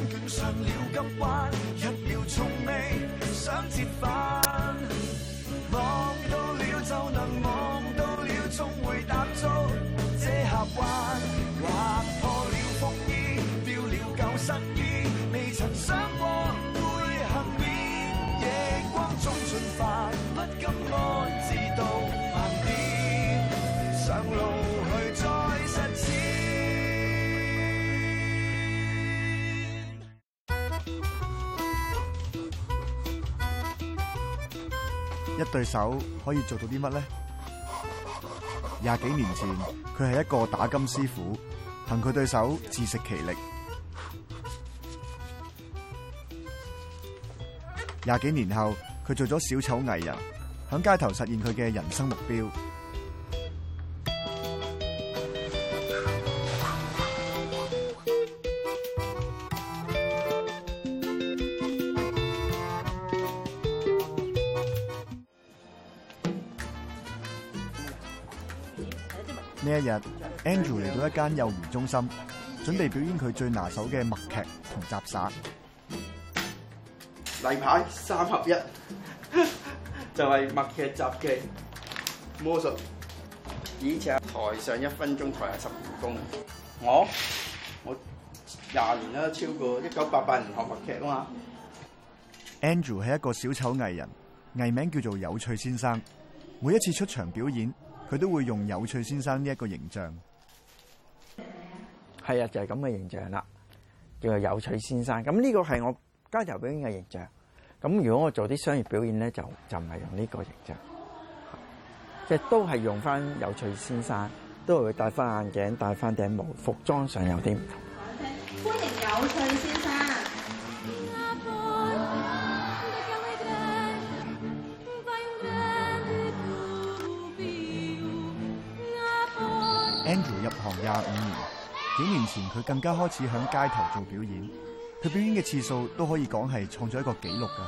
上了急彎，一秒從未想折返。望到了就能望到了，終會踏足這峽灣。劃破了風衣，掉了舊失意，未曾想過會幸免。夜光中進化，不敢安置到盲點，上路去再實踐。 一對手可以做到啲乜呢？20幾年前，佢係一個打金師傅，憑佢對手自食其力。20幾年後，佢做咗小丑藝人，響街頭實現佢嘅人生目標。呢一日 ，Andrew 嚟到一間幼兒中心，準備表演佢最拿手嘅默劇同雜耍。 例牌3合1，就係默劇、雜技、魔術。以前台上1分鐘，台下10年功。我20年啦，超過1988年學默劇啊嘛。 Andrew 係一個小丑藝人，藝名叫做有趣先生。每一次出場表演，佢都會用有趣先生呢一個形象。 係啊，就係咁嘅形象啦，叫做有趣先生。咁呢個係我街頭表演嘅形象。咁如果我做啲商業表演咧，就唔係用呢個形象，即係都係用翻有趣先生，都係會戴翻眼鏡、戴翻頂帽，服裝上有啲唔同。 歡迎有趣先生。 Andrew 入行25年，幾年前佢更加開始響街頭做表演。佢表演嘅次數都可以講係創咗一個紀錄㗎。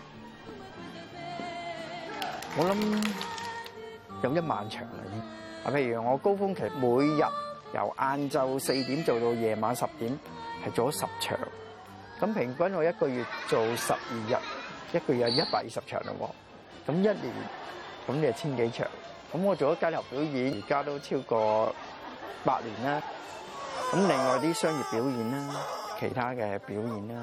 我諗有1萬場啦，已經。啊，譬如我高峰期每日由晏晝4點做到夜晚10點，係做咗10場。咁平均我一個月做12日，一個月有120場嘞喎。咁1年咁你係1000幾場。咁我做咗街頭表演，而家都超過8年啦。咁另外啲商業表演啦，其他嘅表演啦，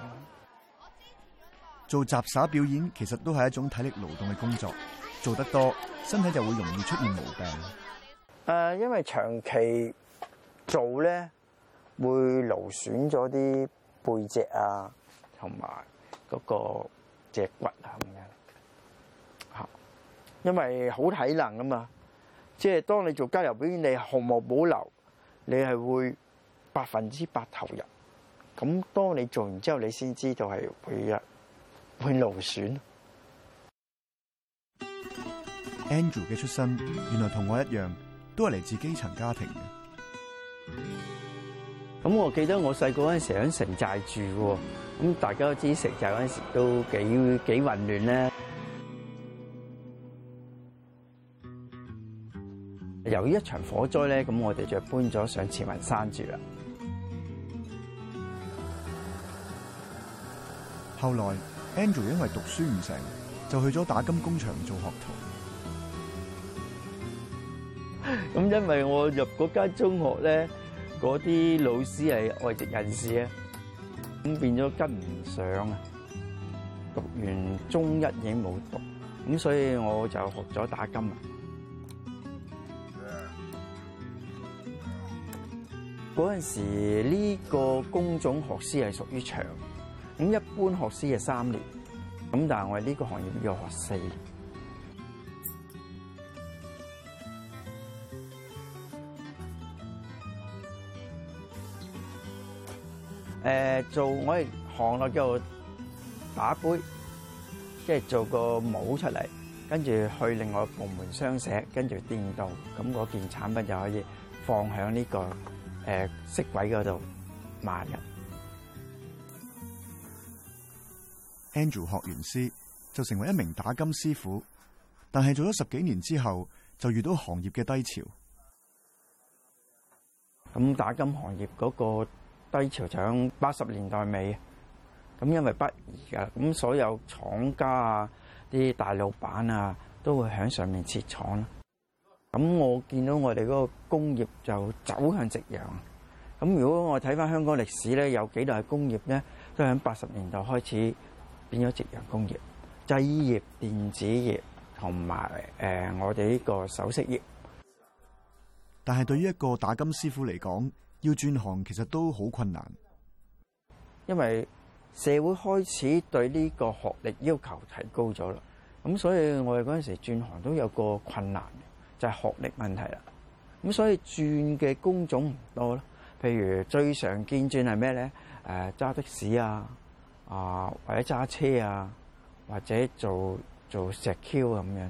做雜耍表演其實都係一種體力勞動嘅工作，做得多，身體就會容易出現毛病。 因為長期做咧，會勞損咗啲背脊啊，同埋嗰個脊骨啊咁樣。嚇，因為好體能啊嘛，即係當你做街頭表演，你毫無保留，你係會100%投入。咁當你做完之後，你先知道係會勞損。 Andrew 嘅出身原來同我一樣，都係嚟自基層家庭嘅。 咁我記得我細個嗰陣時喺城寨住喎，咁大家都知城寨嗰陣時都幾混亂咧。由於一場火災咧，咁我哋就搬咗上慈雲山住啦。 後來 Andrew 因為讀書唔成，就去咗打金工場做學徒。 咁因為我入嗰間中學咧，嗰啲老師係外籍人士啊，咁變咗跟唔上啊。讀完中1已經冇讀，咁所以我就學咗打金啊。嗰陣時呢個工種學師係屬於長，咁一般學師係3年，咁但係我哋呢個行業要學4年。做我哋行內叫做打杯，即係做個模出嚟，跟住去另外部門雙寫，跟住電鍍，咁嗰件產品就可以放喺呢個飾櫃嗰度賣嘅。 Andrew 學完師就成為一名打金師傅，但係做咗10幾年之後，就遇到行業嘅低潮。 咁打金行業嗰個低潮就喺80年代尾，咁因為不宜㗎，咁所有廠家啊、啲大老闆啊都會喺上面設廠啦。咁我見到我哋嗰個工業就走向夕陽。咁如果我睇翻香港歷史咧，有幾代工業咧都喺80年代開始變咗夕陽工業，製衣業、電子業同埋我哋呢個首飾業。 但係對於一個打金師傅嚟講，要轉行其實都好困難， 因為社會開始對呢個學歷要求提高咗啦。咁所以我哋嗰陣時轉行都有個困難，就係學歷問題啦。咁所以轉嘅工種唔多咯。譬如最常見轉係咩咧？揸的士啊，或者揸車啊，或者做石 Q 咁樣。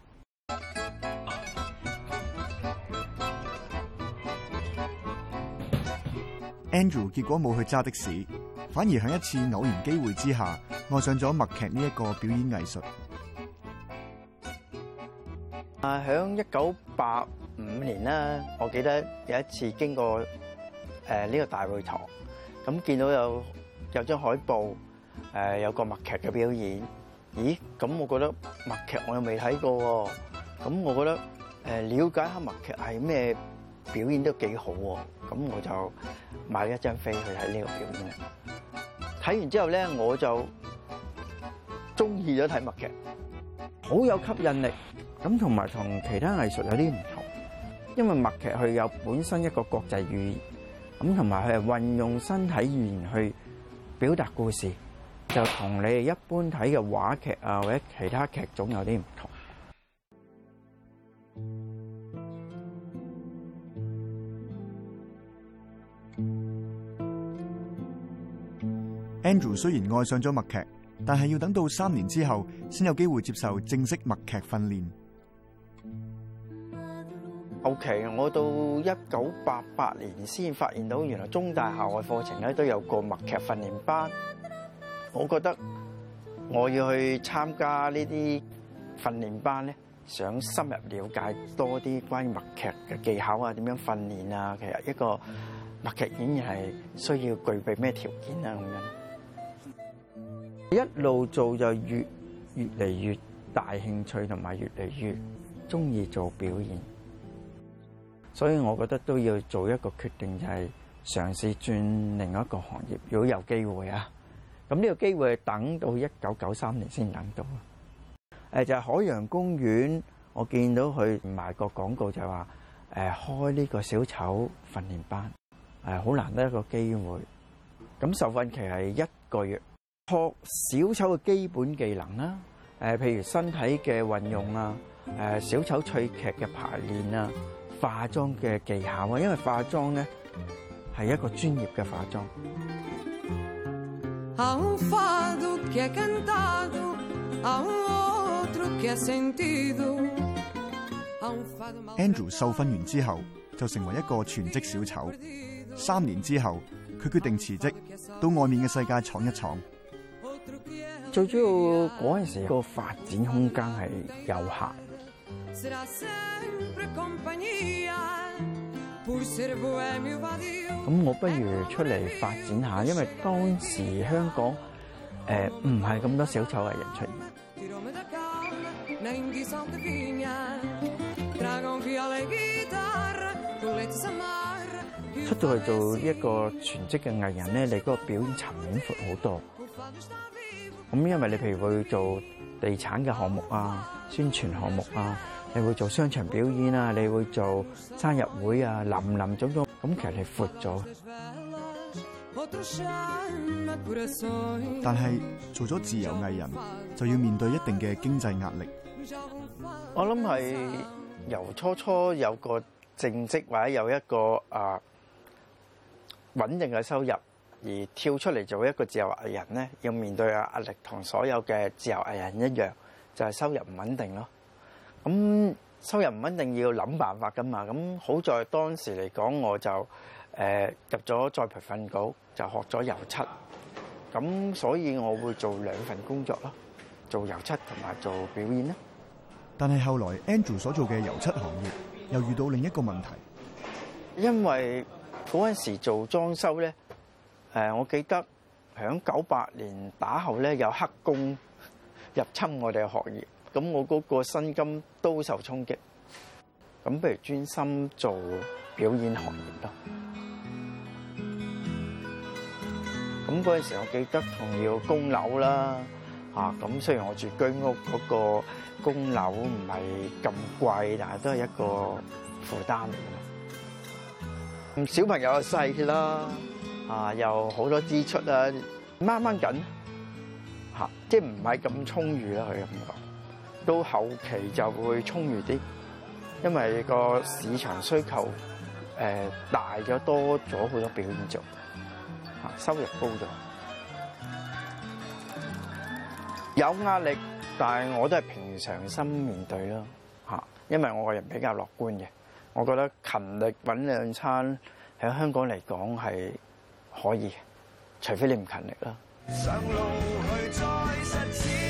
Andrew 結果冇去揸的士，反而喺一次偶然機會之下，愛上咗默劇呢一個表演藝術。 喺1985年啦，我記得有一次經過呢個大會堂，咁見到有張海報，有個默劇嘅表演。咦？咁我覺得默劇我又未睇過喎，咁我覺得了解下默劇係咩表演都幾好喎，咁我就買一張飛去睇呢個表演啦。睇完之後咧，我就中意咗睇默劇，好有吸引力。咁同埋同其他藝術有啲唔同，因為默劇佢有本身一個國際語言，咁同埋佢係運用身體語言去表達故事，就同你哋一般睇嘅話劇啊或者其他劇種有啲唔同。 Andrew 雖然愛上咗默劇，但係要等到3年之後先有機會接受正式默劇訓練。 OK， 我到1988年先發現到原來中大校外課程咧都有個默劇訓練班。我覺得我要去參加呢啲訓練班咧，想深入了解多啲關於默劇嘅技巧啊，點樣訓練啊，其實一個默劇演員係需要具備咩條件啊咁樣。一路做就越嚟越大興趣，同埋越嚟越中意做表演。所以我覺得都要做一個決定，就係嘗試轉另一個行業。如果有機會啊，咁呢個機會係等到1993年先等到。就係海洋公園，我見到佢賣個廣告就係話開呢個小丑訓練班，好難得一個機會。咁受訓期係1個月，學小丑嘅基本技能啦，譬如身體嘅運用啊，小丑趣劇嘅排練啊。化妝嘅技巧啊，因為化妝咧係一個專業嘅化妝。 Andrew 受訓完之後就成為一個全職小丑。3年之後，佢決定辭職，到外面嘅世界闖一闖。 最主要嗰陣時個發展空間係有限。咁我不如出嚟發展下，因為當時香港唔係咁多小丑藝人出現。出到去做一個全職嘅藝人咧，你嗰個表演層面闊好多。咁因為你譬如會做地產嘅項目啊、宣傳項目啊，你會做商場表演啊，你會做生日會啊，林林總總，咁其實係闊咗。 但係做咗自由藝人，就要面對一定嘅經濟壓力。 我諗係由初有個正職或者有一個穩定嘅收入，而跳出嚟做一個自由藝人咧，要面對嘅壓力同所有嘅自由藝人一樣，就係收入唔穩定咯。咁收入唔穩定要諗辦法噶嘛。咁好在當時嚟講，我就入咗再培訓局，就學咗油漆。咁所以我會做2份工作咯，做油漆同埋做表演啦。 但係後來 Andrew 所做嘅油漆行業又遇到另一個問題， 因為嗰陣時做裝修咧， 我記得響98年打後咧，有黑工入侵我哋嘅學業，咁我嗰個薪金都受衝擊。咁不如專心做表演行業咯。咁嗰陣時，我記得仲要供樓啦，咁雖然我住居屋，嗰個供樓唔係咁貴，但係都係一個負擔嚟嘅。咁小朋友又細啦，又好多支出啦，掹掹緊，即係唔係咁充裕啦，佢咁講。到後期就會充裕啲，因為個市場需求大咗，多咗好多表演做，收入高咗，有壓力，但係我都係平常心面對咯，因為我個人比較樂觀嘅，我覺得勤力揾兩餐喺香港嚟講係可以，除非你唔勤力啦。上路去再實踐。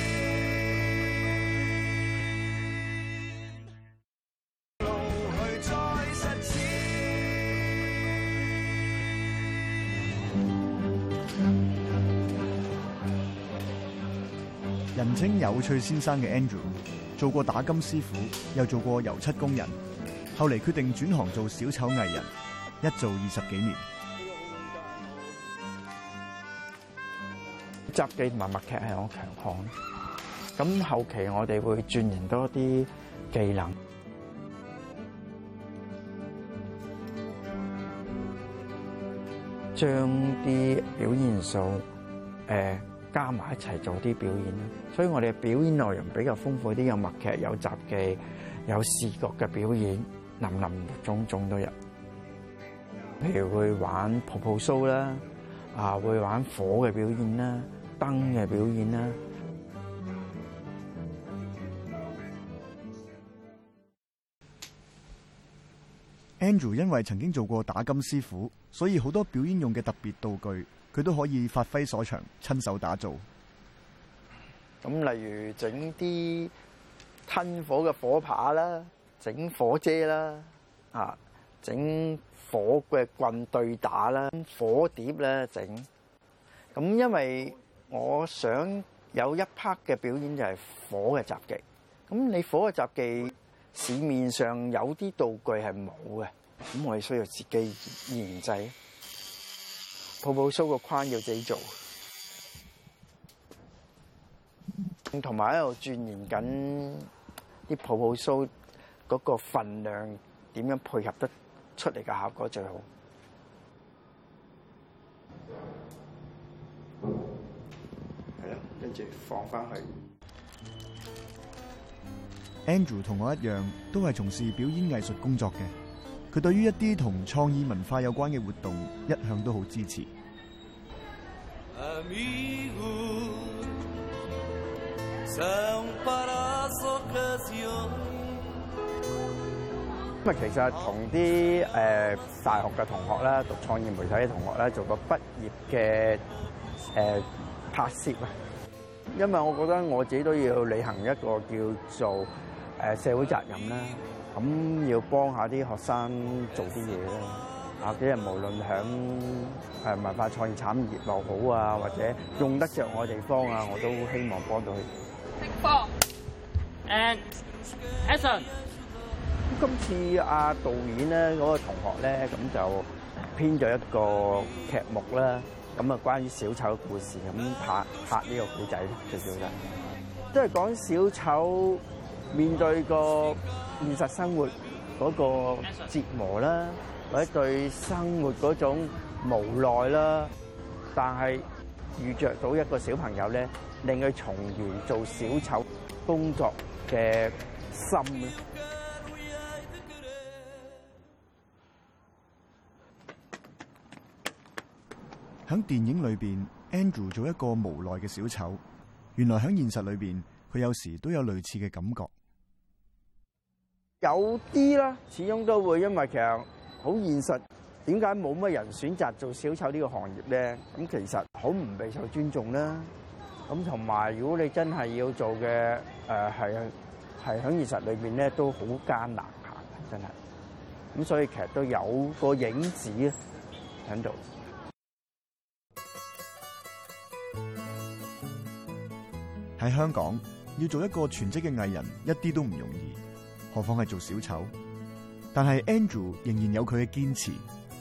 人稱有趣先生嘅 Andrew， 做過打金師傅，又做過油漆工人，後嚟決定轉行做小丑藝人，一做20幾年。 雜技同埋默劇係我強項，咁後期我哋會鑽研多啲技能，將啲表演元素加埋一齊做啲表演啦，所以我哋嘅表演內容比較豐富啲，有默劇、有雜技、有視覺嘅表演，林林種種都有。譬如會玩泡泡蘇啦，會玩火嘅表演啦，燈嘅表演啦。 Andrew 因為曾經做過打金師傅，所以好多表演用嘅特別道具，佢都可以發揮所長，親手打造。 咁例如整啲吞火嘅火把啦，整火遮啦，整火嘅棍對打啦，火碟咧整。咁因為我想有一 part 嘅表演就係火嘅雜技。咁你火嘅雜技市面上有啲道具係冇嘅，咁我哋需要自己研製。泡泡蘇個框要自己做，同埋喺度鑽研緊啲泡泡蘇嗰個份量點樣配合得出嚟嘅效果最好。係啦，跟住放翻去。 Andrew 同我一樣，都係從事表演藝術工作嘅。佢對於一啲同創意文化有關嘅活動，一向都好支持。 咁啊，其實同啲大學嘅同學啦，讀創意媒體嘅同學啦，做個畢業嘅拍攝啊。因為我覺得我自己都要履行一個叫做社會責任啦，咁要幫下啲學生做啲嘢啦。啲人無論響文化創意產業又好啊，或者用得着我嘅地方啊，我都希望幫到佢。 And action！ 今次導演咧嗰個同學咧，咁就編咗一個劇目啦，咁啊關於小丑嘅故事，咁拍呢個故仔最主要都係講小丑面對個現實生活嗰個折磨啦，或者對生活嗰種無奈啦，但係遇着到一個小朋友咧，令佢重燃做小丑工作嘅心。 喺電影裏邊 ，Andrew 做一個無奈嘅小丑，原來喺現實裏邊，佢有時都有類似嘅感覺。 有啲啦，始終都會，因為其實好現實。點解冇乜人選擇做小丑呢個行業咧？咁其實好唔備受尊重啦。咁同埋，如果你真係要做嘅，係喺現實裏邊咧，都好艱難行，真係。咁所以其實都有個影子喺度。 喺香港要做一個全職嘅藝人一啲都唔容易，何況係做小丑。但係 Andrew 仍然有佢嘅堅持，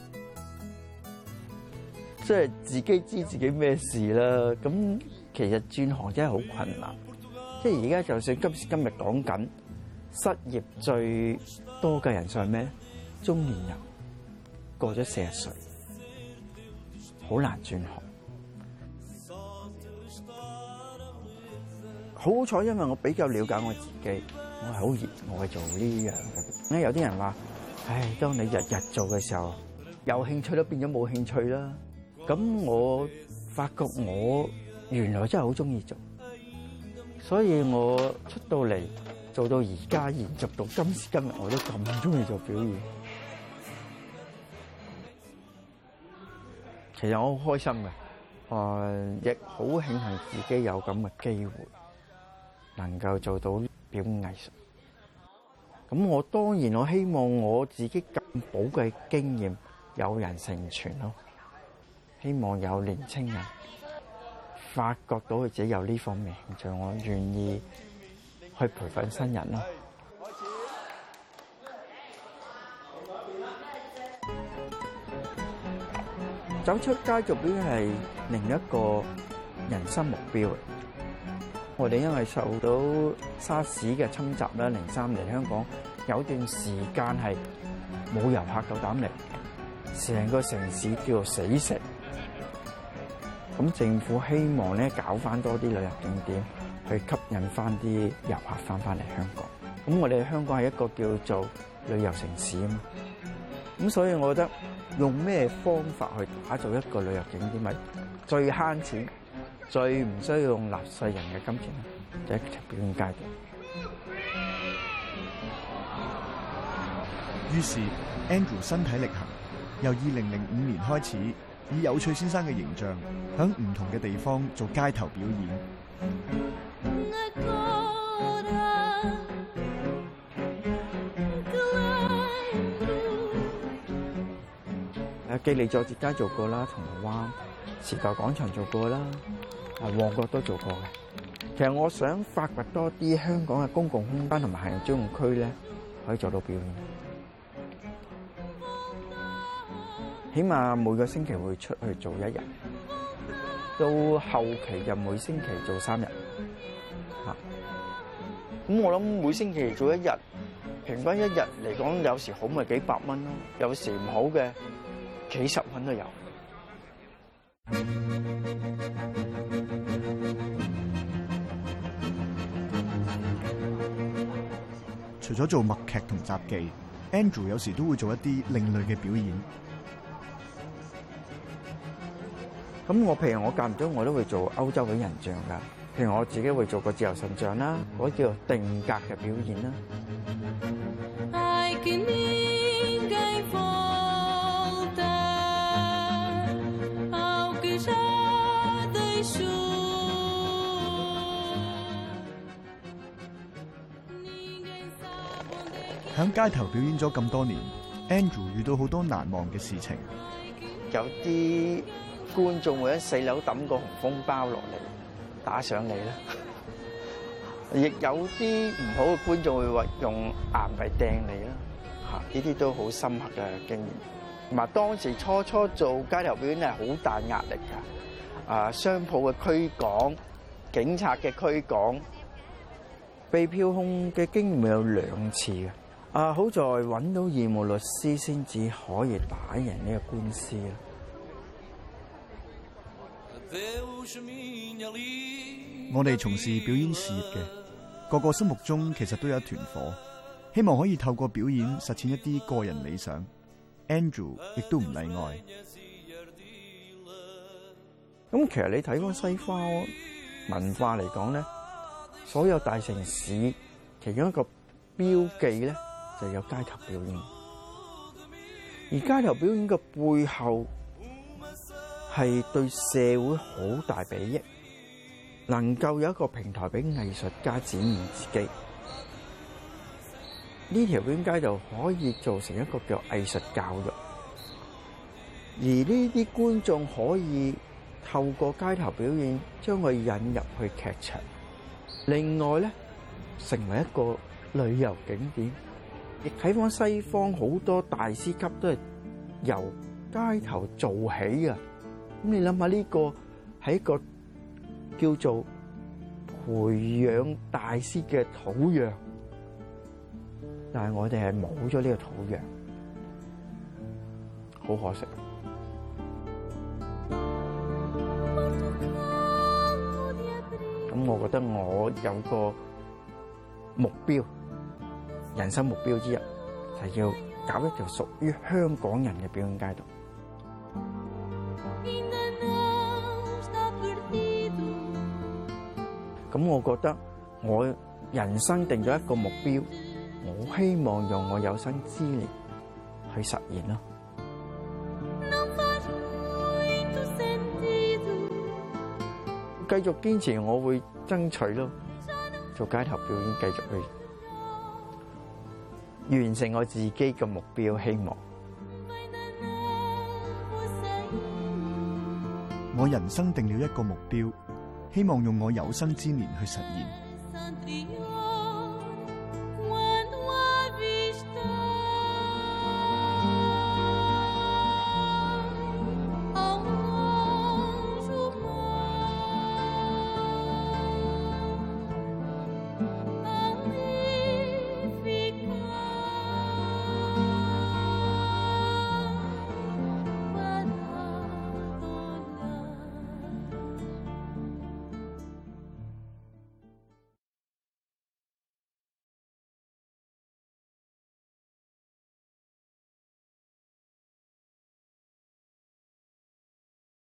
即係自己知自己咩事啦。咁其實轉行真係好困難。即係而家就算今時今日講緊失業最多嘅人數係咩？中年人過咗40歲，好難轉行。好彩，因為我比較了解我自己，我係好熱愛做呢樣嘅。有啲人話，唉，當你日日做嘅時候，有興趣都變咗冇興趣啦。咁我發覺我原來真係好中意做，所以我出到嚟做到而家，延續到今時今日，我都咁中意做表演。其實我好開心嘅，亦好慶幸自己有咁嘅機會，能夠做到表演藝術。咁我當然我希望我自己咁寶貴經驗有人承傳咯，希望有年青人發覺到佢自己有呢方面興趣，我願意去培訓新人咯。走出街做表演係另一個人生目標。我哋因為受到沙士嘅侵襲啦，03年香港有段時間係冇遊客夠膽嚟，成個城市叫做死城。咁政府希望咧搞翻多啲旅遊景點，去吸引翻啲遊客翻嚟香港。咁我哋香港係一個叫做旅遊城市啊嘛。咁所以我覺得用咩方法去打造一個旅遊景點咪最慳錢、最唔需要用納稅人嘅金錢咧，就係一條表演街道。 於是 Andrew 身體力行，由2005年開始，以有趣先生嘅形象，喺唔同嘅地方做街頭表演。 記利佐治街做過啦，銅鑼灣時代廣場做過啦，旺角都做過嘅。其實我想發掘多啲香港嘅公共空間同埋行人專用區咧，可以做到表演。起碼每個星期會出去做1日，到後期就每星期做3日。咁我諗每星期做1日，平均1日嚟講，有時好咪幾百蚊咯，有時唔好嘅幾十蚊都有。 除咗做默劇同雜技 ，Andrew 有時都會做一啲另類嘅表演。 咁譬如我間唔中我都會做歐洲嘅人像㗎，譬如我自己會做個自由神像啦，嗰叫做定格嘅表演啦。 喺街頭表演咗咁多年 ，Andrew 遇到好多難忘嘅事情。 有啲觀眾會喺4樓抌個紅封包落嚟打上嚟啦，亦有啲唔好嘅觀眾會話用硬幣掟你啦，呢啲都好深刻嘅經驗。同埋當時初做街頭表演係好大壓力㗎，商鋪嘅驅趕、警察嘅驅趕，被票控嘅經驗有2次嘅。好在揾到義務律師先至可以打贏呢個官司啦。 我哋從事表演事業嘅，個個心目中其實都有一團火，希望可以透過表演實踐一啲個人理想。Andrew 亦都唔例外。 咁其實你睇翻西方文化嚟講咧，所有大城市其中一個標記咧，就有街頭表演。而街頭表演嘅背後係對社會好大裨益，能夠有一個平台俾藝術家展現自己。呢條表演街道可以做成一個叫藝術教育，而呢啲觀眾可以透過街頭表演將佢引入去劇場， 另外咧，成為一個旅遊景點。亦睇翻西方好多大師級都係由街頭做起嘅。咁你諗下呢個係一個叫做培養大師嘅土壤，但係我哋係冇咗呢個土壤，好可惜。咁我覺得我有個目標，人生目標之一就係要搞一條屬於香港人嘅表演街道。咁我覺得我人生定咗一個目標，我希望用我有生之年去實現咯。繼續堅持，我會爭取咯，做街頭表演，繼續去完成我自己嘅目標。希望我人生定了一個目標，希望用我有生之年去實現。